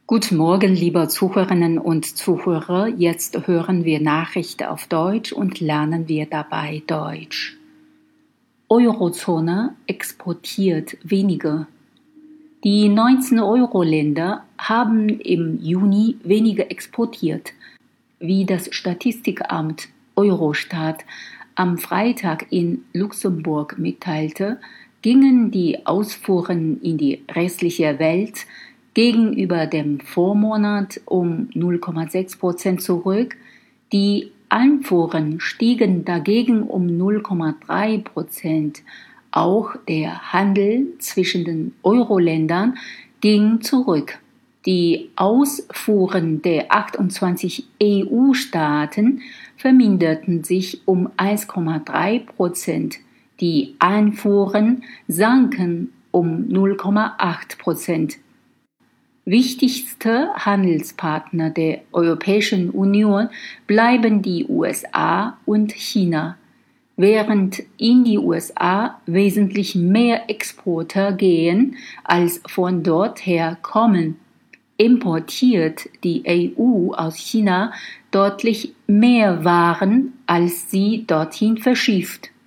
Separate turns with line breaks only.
Guten Morgen, liebe Zuhörerinnen und Zuhörer. Jetzt hören wir Nachrichten auf Deutsch und lernen wir dabei Deutsch. Eurozone exportiert weniger. Die 19 Euro-Länder haben im Juni weniger exportiert, wie das Statistikamt Eurostat am Freitag in Luxemburg mitteilte, gingen die Ausfuhren in die restliche Welt gegenüber dem Vormonat um 0,6% zurück. Die Einfuhren stiegen dagegen um 0,3%. Auch der Handel zwischen den Euro-Ländern ging zurück. Die Ausfuhren der 28 EU-Staaten verminderten sich um 1,3%. Die Einfuhren sanken um 0,8%. Wichtigste Handelspartner der Europäischen Union bleiben die USA und China. Während in die USA wesentlich mehr Exporte gehen, als von dort her kommen, importiert die EU aus China deutlich mehr Waren, als sie dorthin verschifft.